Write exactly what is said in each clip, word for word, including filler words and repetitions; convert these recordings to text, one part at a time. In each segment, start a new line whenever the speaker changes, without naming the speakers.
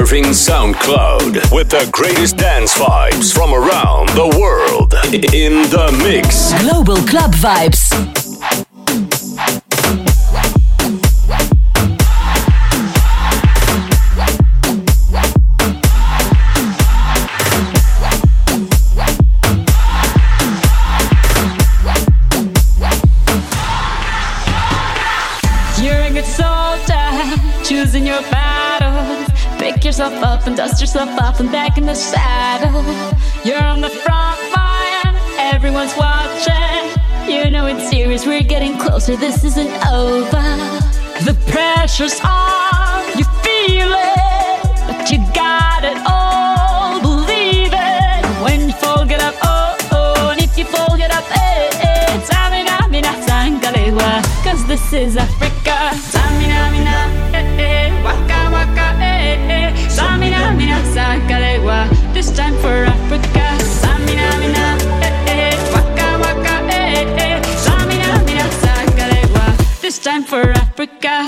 surfing SoundCloud with the greatest dance vibes from around the world in the mix.
Global Club Vibes.
Choosing your battles, pick yourself up and dust yourself off and back in the saddle. You're on the front line, everyone's watching. You know it's serious, we're getting closer, this isn't over. The pressure's on, you feel it, but you got it all, believe it. When you fall, get up, oh, oh, and if you fall, get up, eh, eh. Samina, mina, sangalewa, cause this is Africa. Samina, mina. Waka waka eh eh, Samina mina sakalegwa. This time for Africa. Samina mina eh eh, waka waka eh eh, Samina mina sakalegwa. This time for Africa.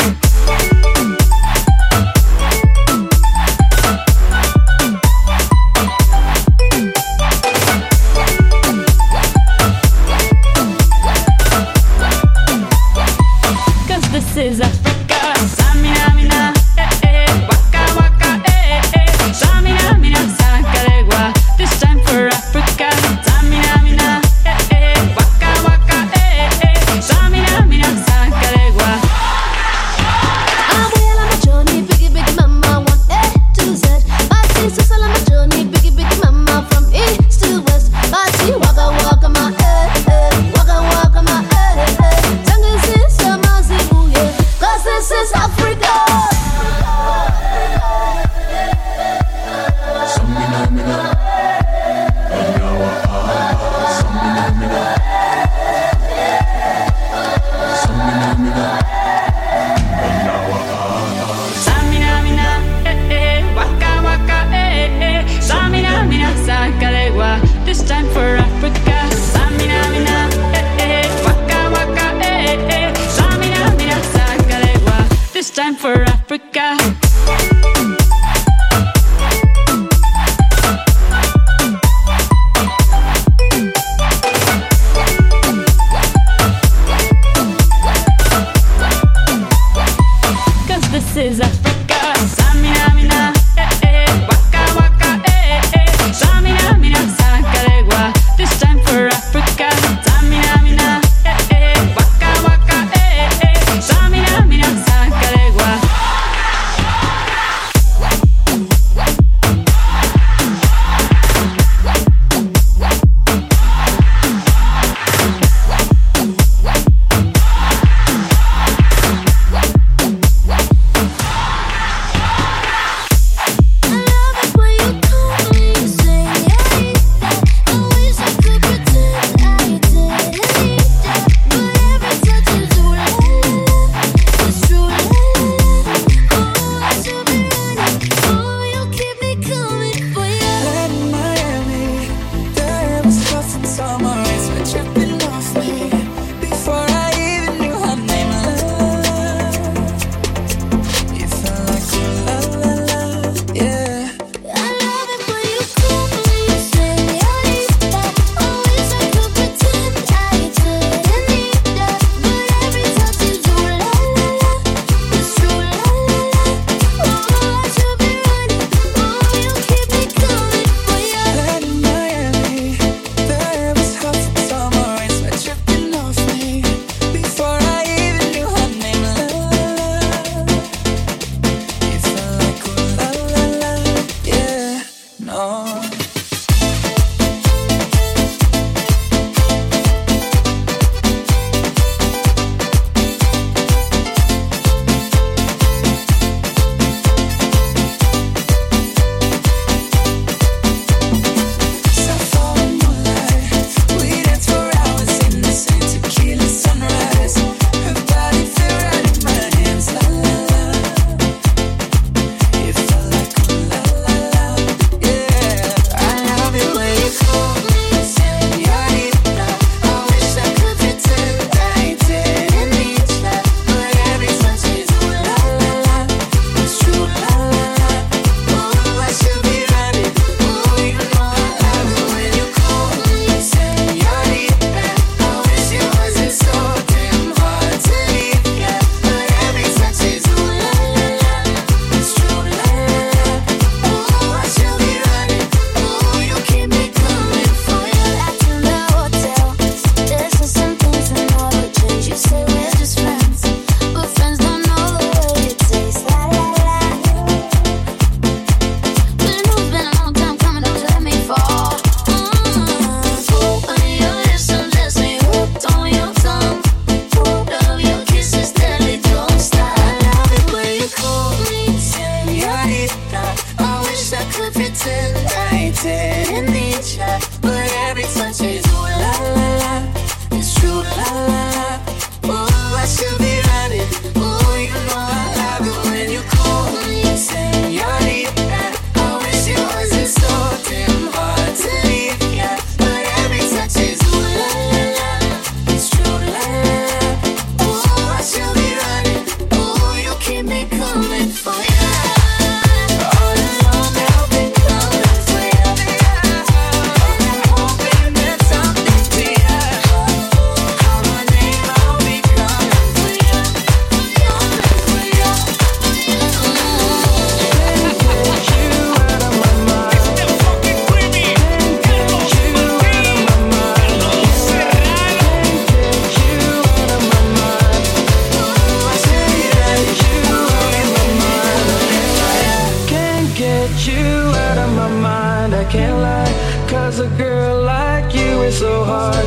Cause this is Africa. Samina mina eh eh, waka waka eh eh, Samina mina sakalegwa. This time for Africa. Samina mina eh eh, waka waka eh eh, Samina mina sakalegwa.
I'm well on my journey, biggie biggie mama, one A to Z. Party social on my journey, biggie biggie mama, from east to west. Party waka waka my eh eh, waka waka my eh eh. Tango sister mazibu yeah, cause this is Africa.
Samina mina, Anyawa ah, Samina mina, Samina mina, Anyawa ah.
Samina mina eh eh, waka waka eh eh, Samina mina sakalegwa. This time for Africa. Samina mina eh eh, waka waka eh eh, Samina mina sakalegwa. This time for Africa. Cause this is Africa. Samina mina eh eh, waka waka eh eh, Samina mina sakalegwa. This time for Africa. Samina mina eh eh, waka waka eh eh, Samina mina sakalegwa.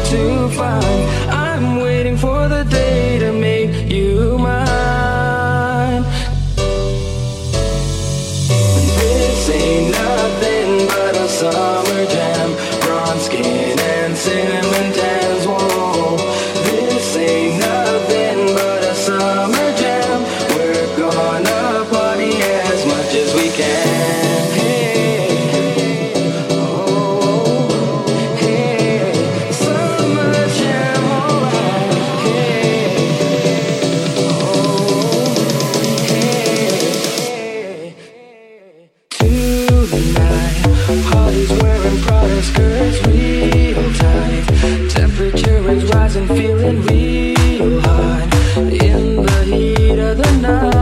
to find. I'm waiting for the day to make you mine. This ain't nothing but a summer jam. Bronze skin and cinnamon tans. Whoa, this ain't nothing but a summer jam. We're gonna party as much as we can. Hey, oh, hey, summer jam, alright. Hey, oh, hey, tonight, Holly's wearing Prada skirts real tight. Temperature is rising, feeling real hot in the heat of the night.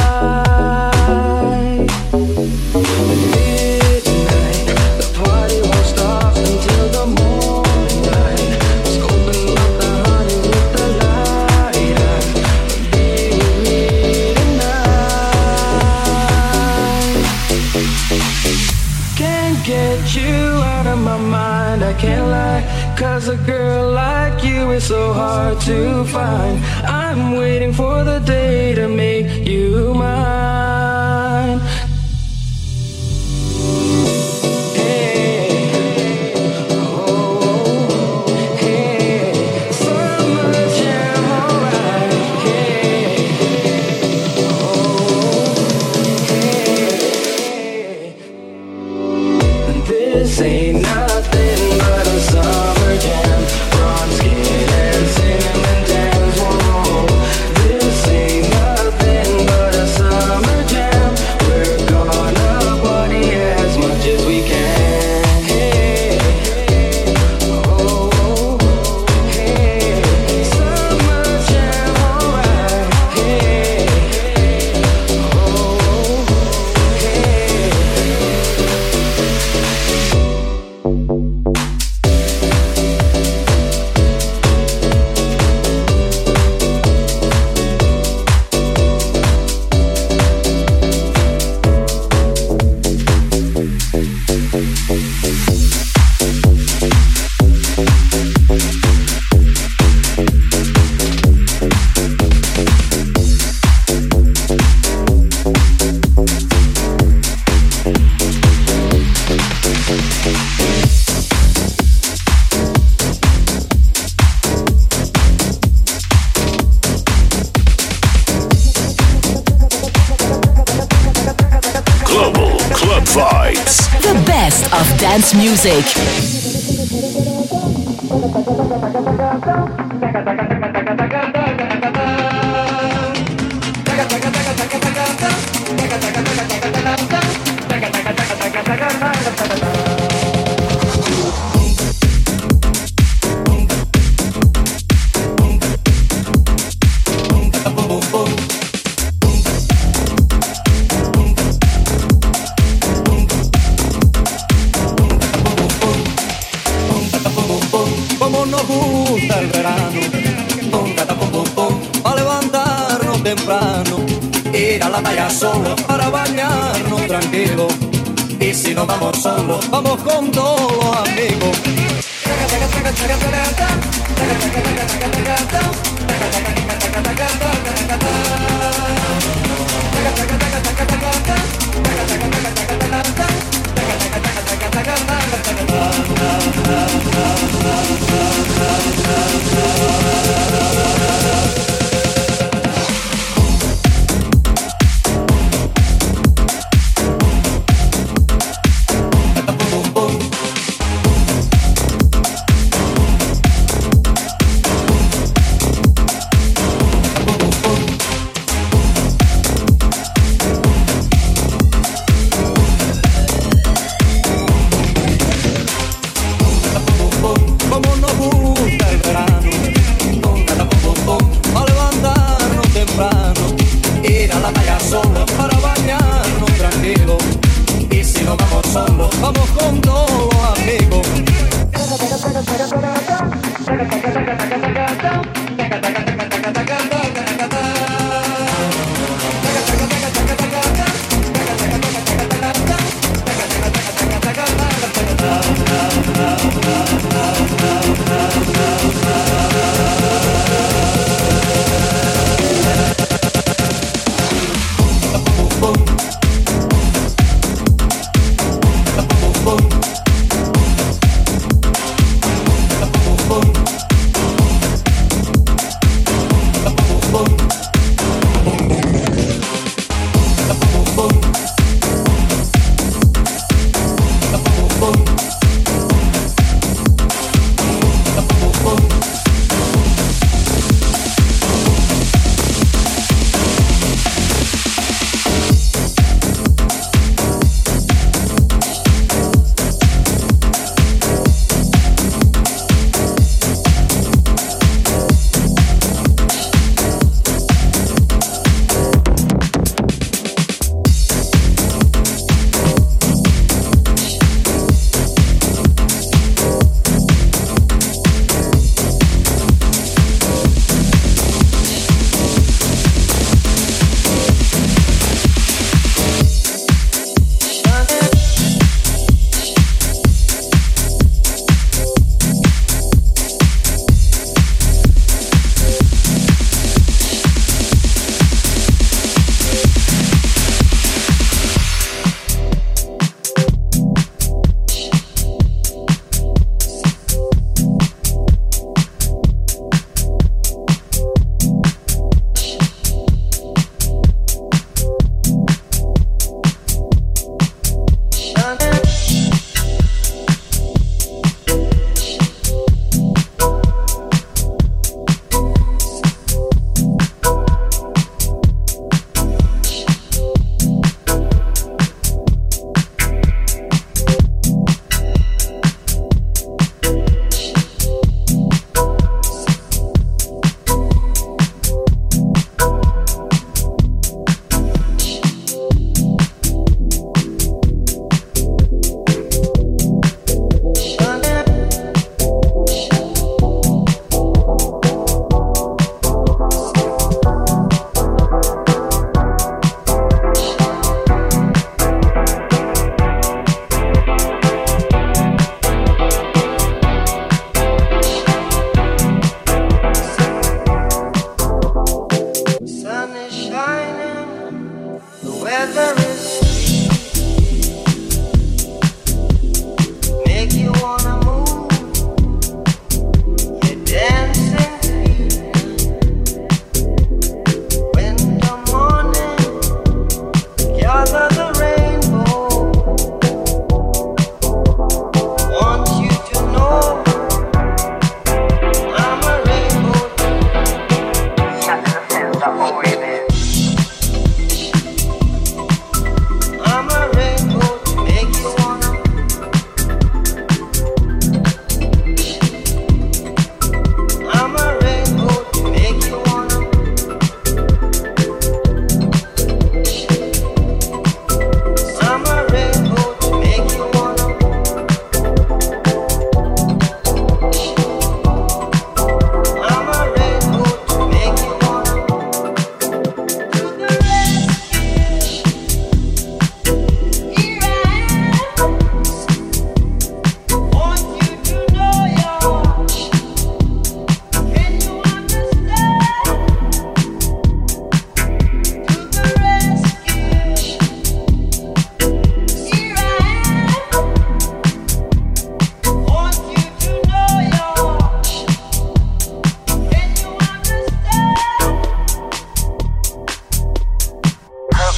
Midnight, the party won't stop until the morning light. Scoping up the honey with the light. Be with me tonight. Can't get you out of my mind, I can't lie. Cause a girl like you is so hard to find. I'm waiting for the day to make you mine. Hey, oh, hey, summer jam, alright. Hey, oh, hey, this ain't nothing but a summer jam. Bronze skin and cinnamon tans. Whoa, this ain't nothing but a summer jam. We're gonna party as much as we can. Hey, oh, hey, summer jam, alright. Hey, oh, hey.
Global Club Vibes.
The best of dance music.
Como nos gusta el verano, pum, cata, pum, pum, pum, a levantarnos temprano, ir a la playa solo para bañarnos tranquilo. Y si no vamos solos, vamos con todos los amigos.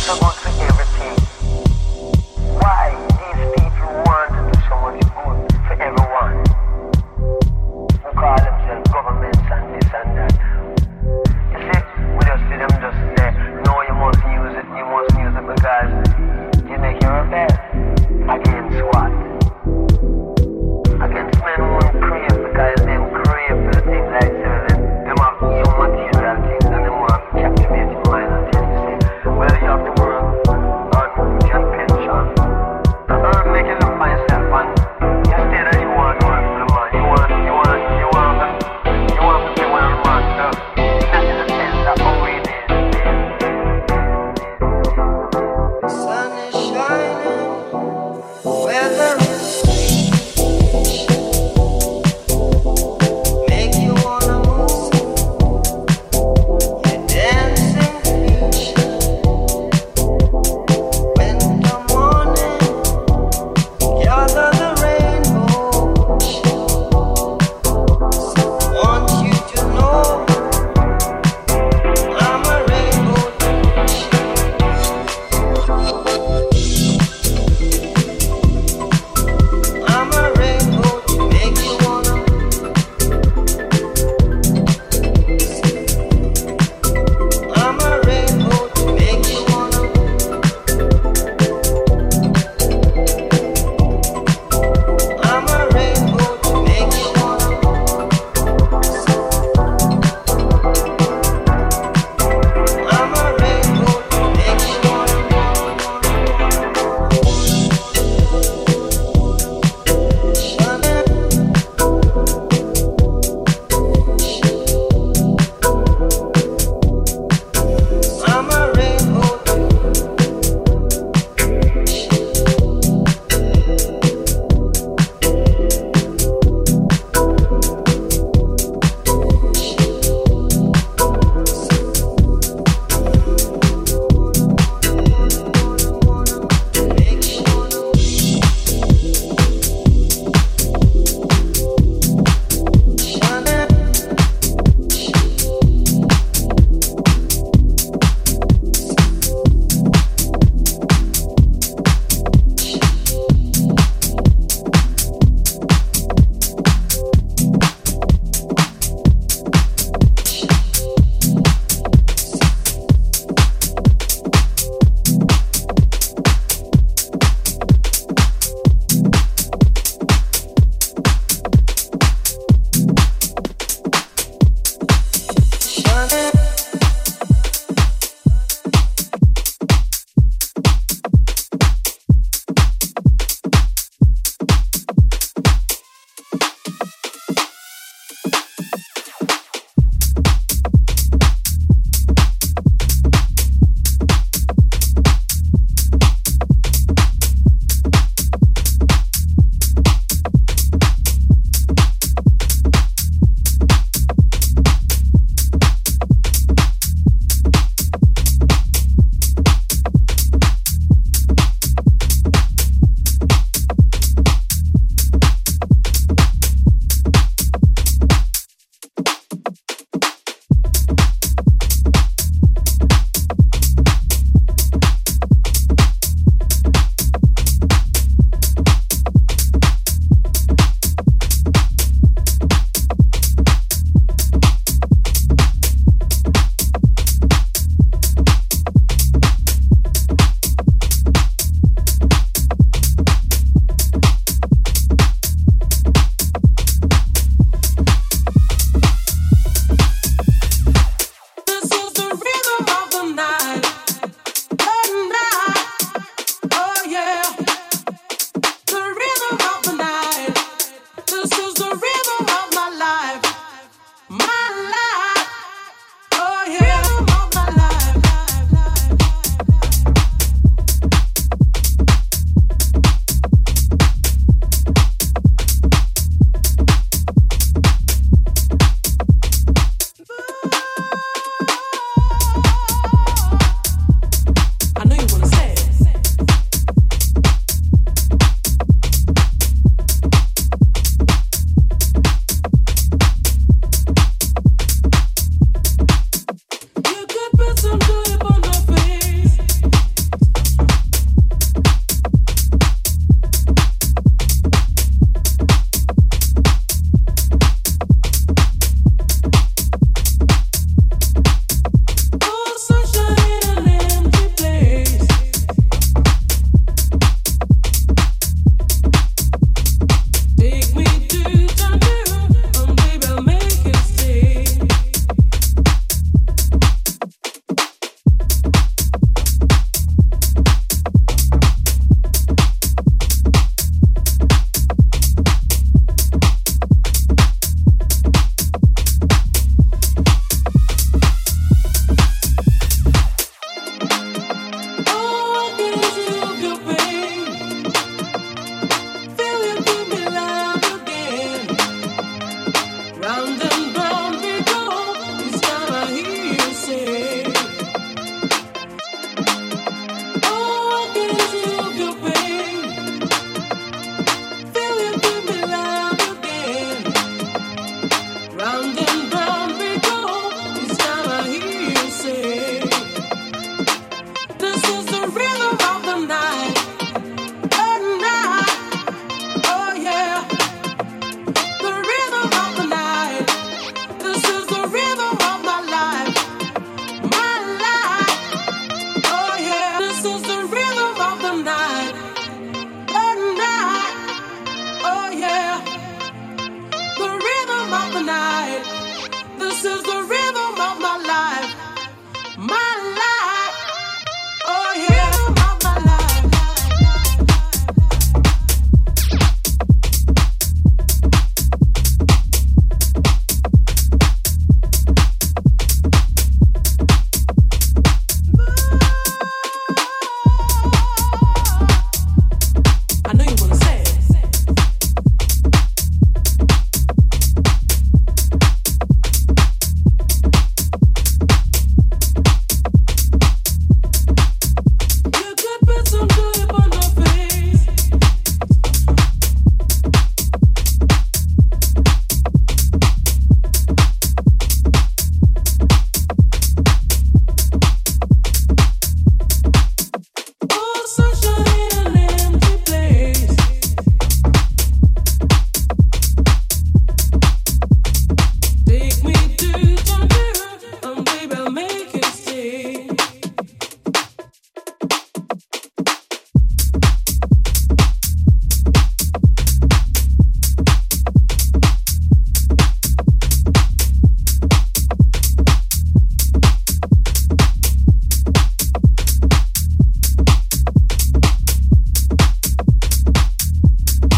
so good for everything. Why these people want to do so much good for everyone? Who call themselves governments and this and that. You see, we just see them just say, no, you must use it, you must use it because you make your rebel. Against what? Against men who won't crave because them crave for the things like them. Them have some material things and them want to captivate your mind and tell you, say, well, you have the world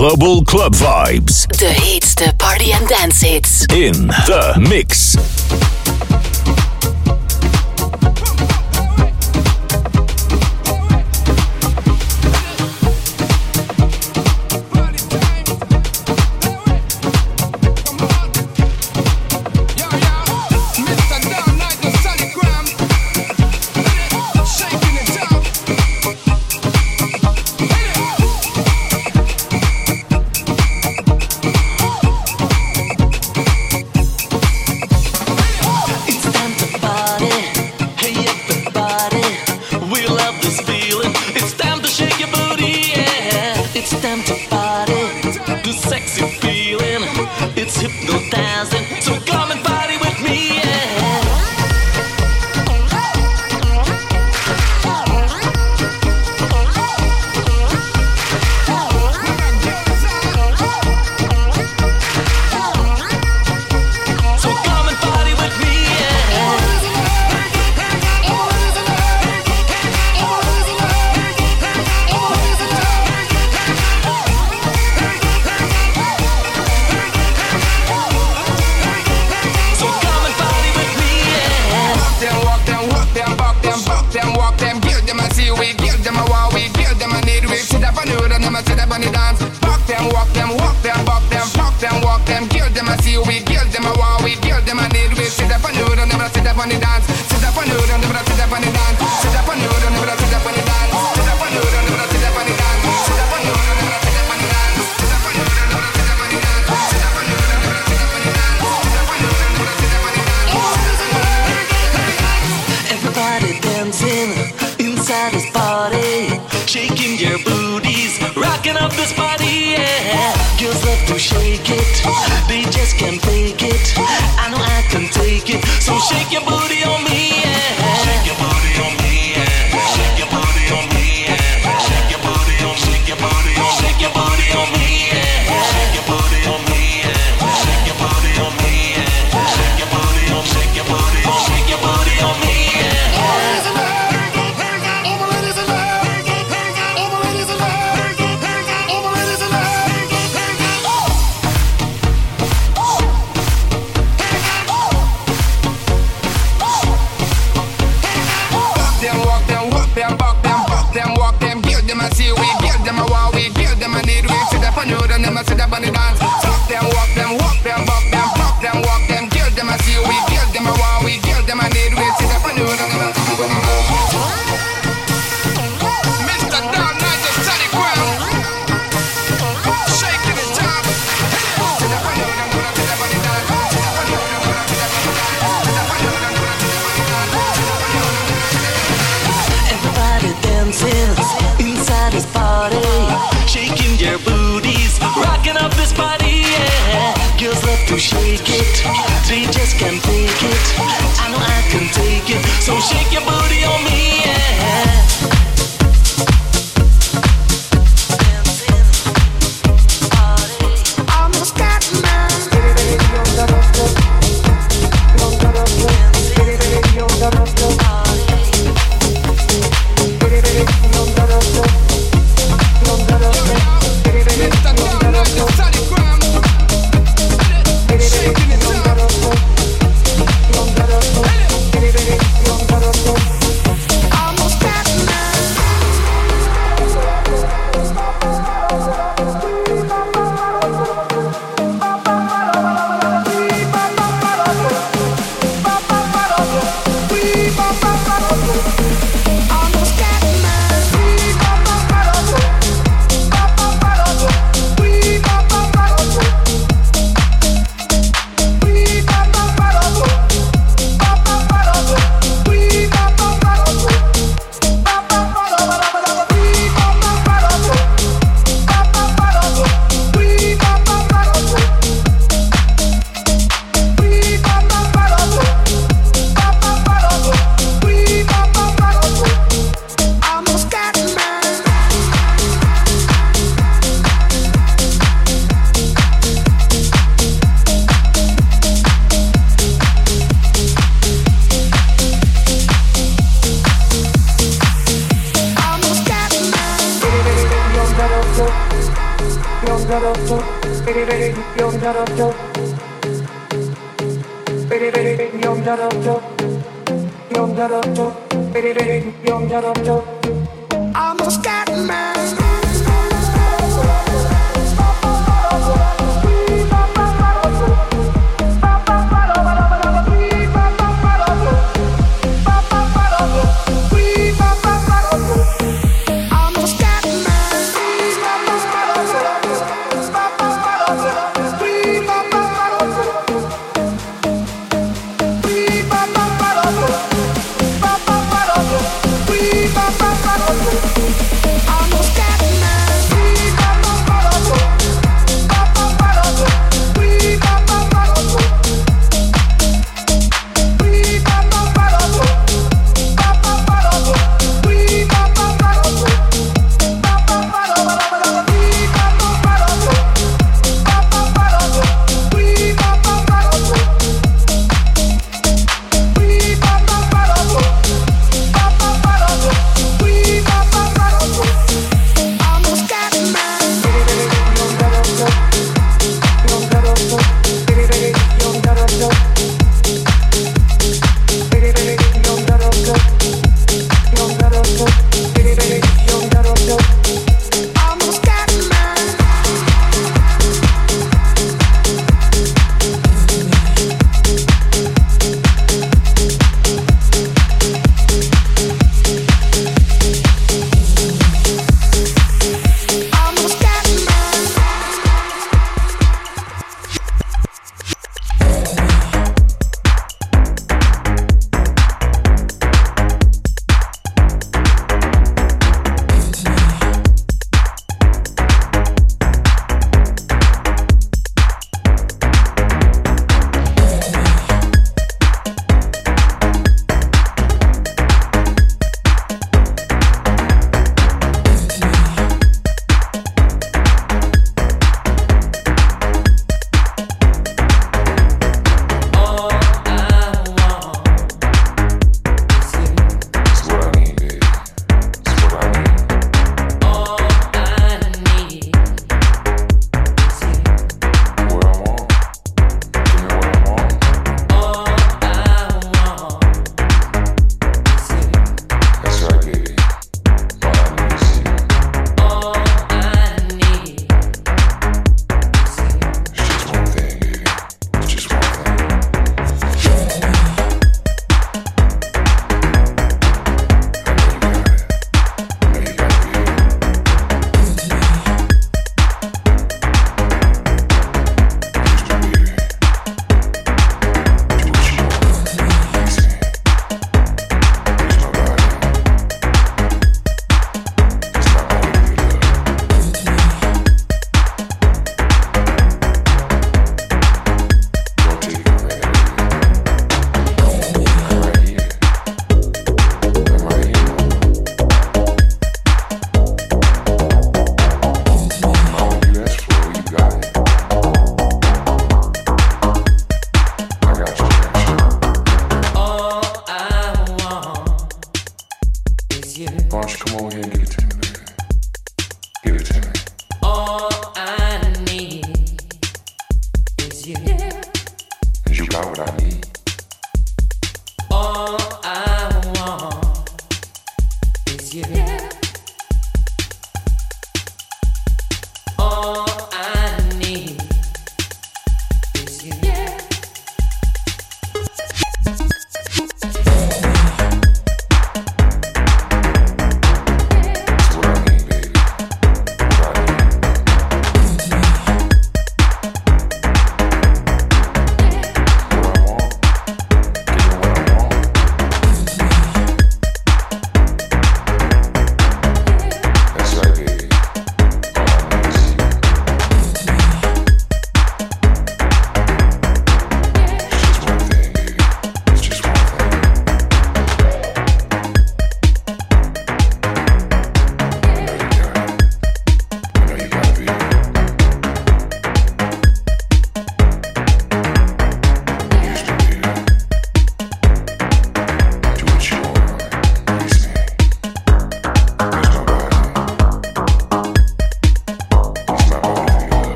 global club vibes.
De heetste party and dance hits.
In the mix.
I'm a scat man.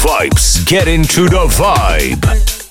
vibes. Get into the vibe.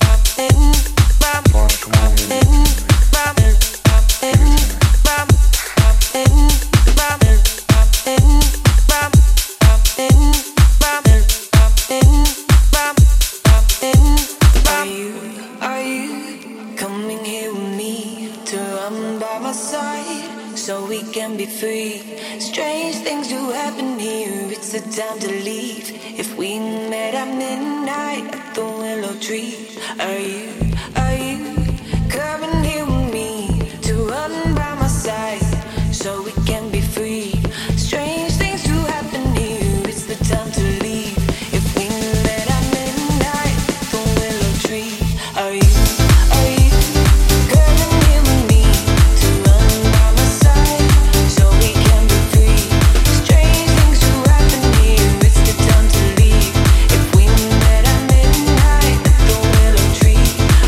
Time to leave. If we met at midnight at the willow tree, are you, are you coming here with me to run by my side so we can be free? Strange things do happen here. It's the time to leave. If we met at midnight at the willow tree, are you, are you coming here with me to run by my side so we can be free? Strange things do happen here. It's the time to leave. If we met at midnight at the willow tree,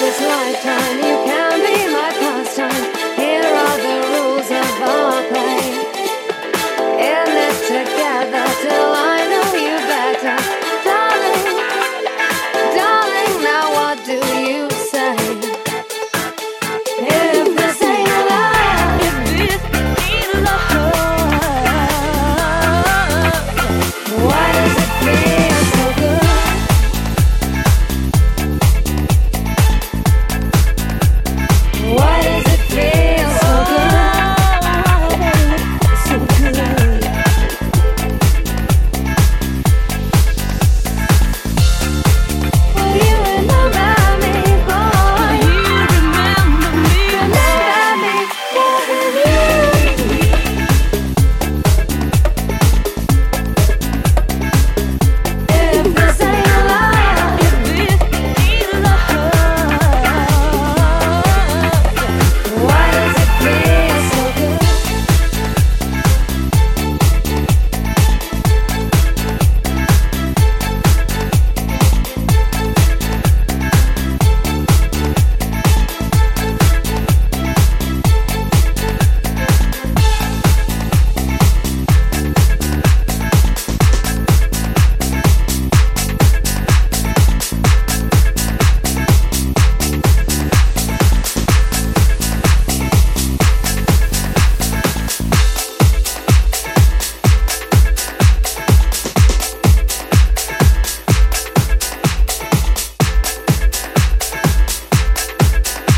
this lifetime, you can be my pastime. Here are the rules of our play. In this together till I know you better. Darling, darling, now what do you say? If this ain't love, if this ain't love, why does it feel so good? Why does it feel so good? So good. Will you remember me, boy? You remember me, remember me, loving you. If this ain't love, if this ain't love, why does it feel so good?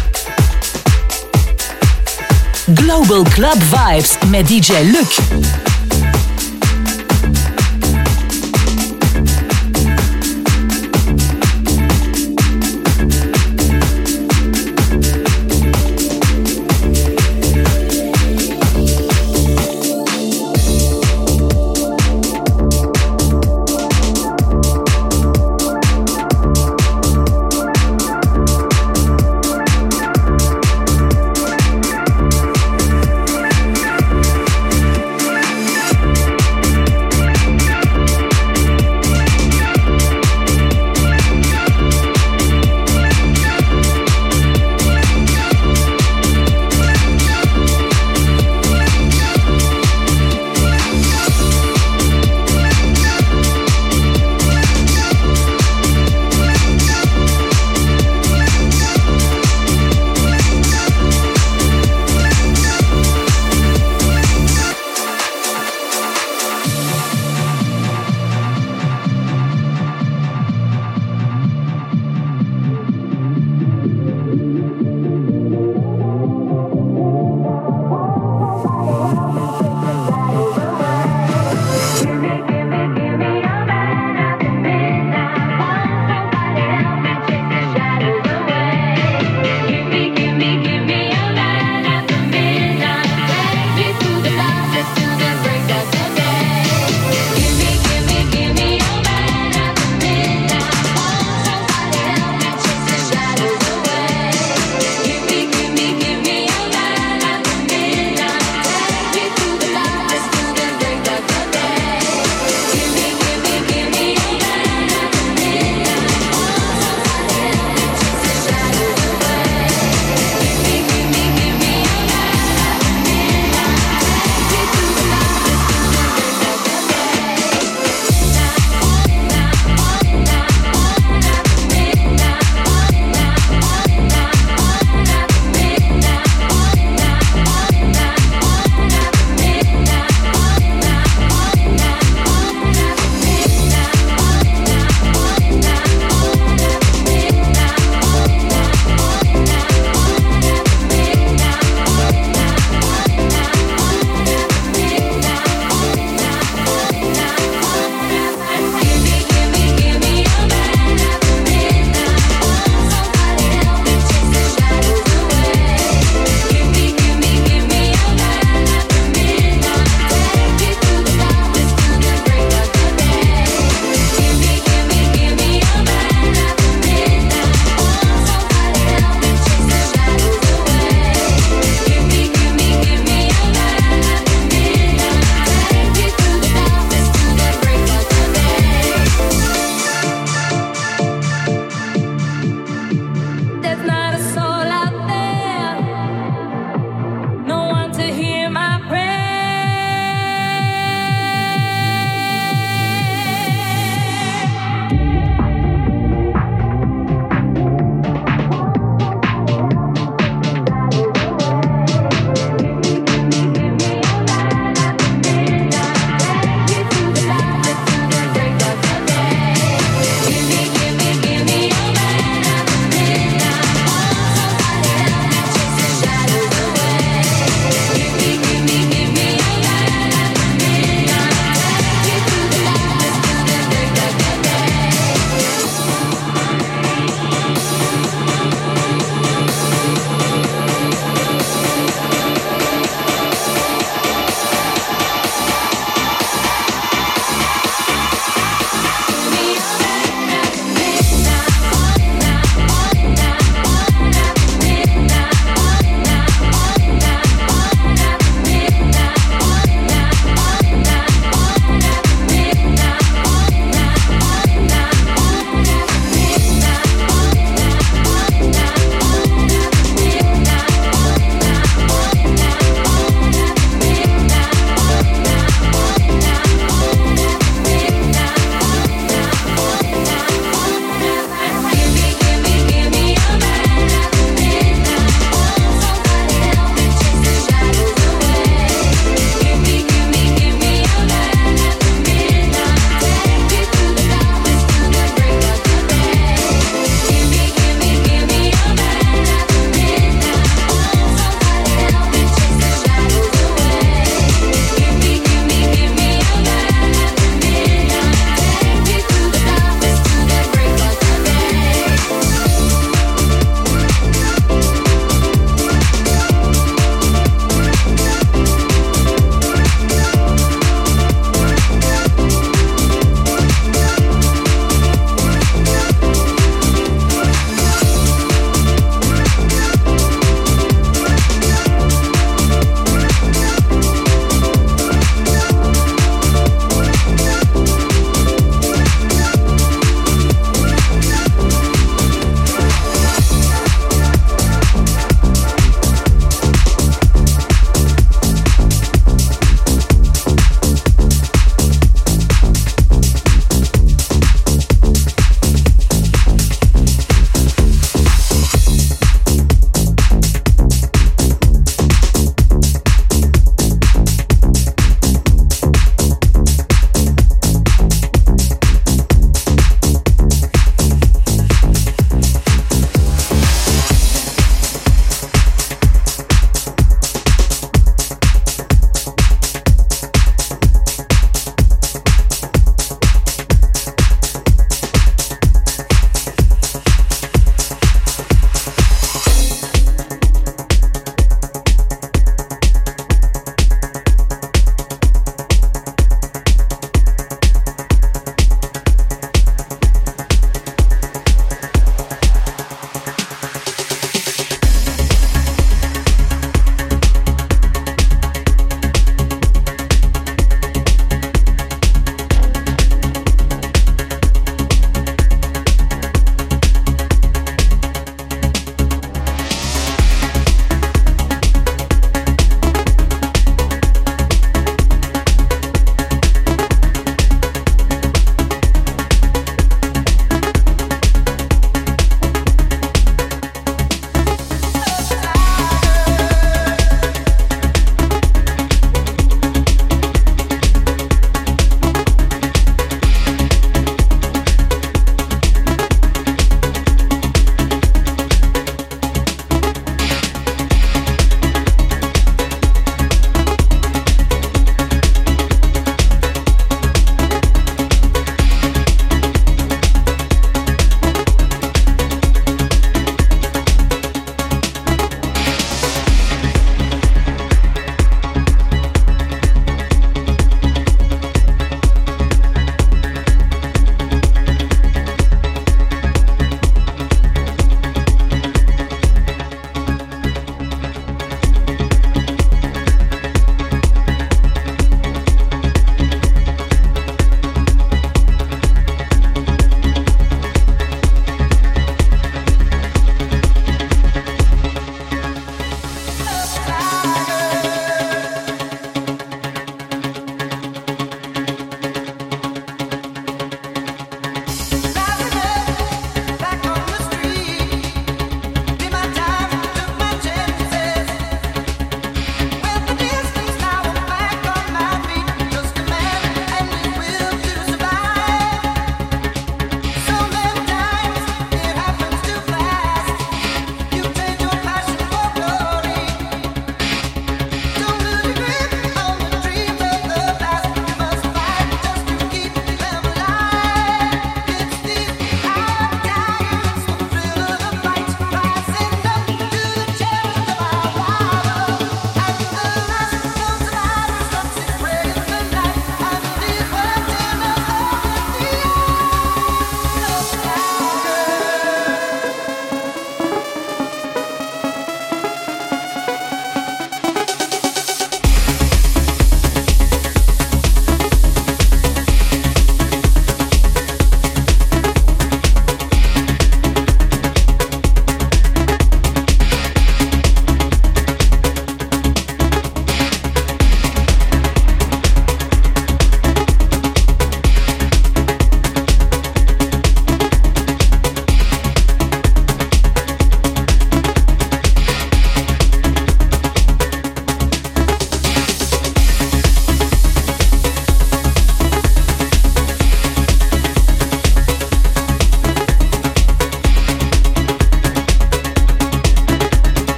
Global Club Vibes met D J Luc.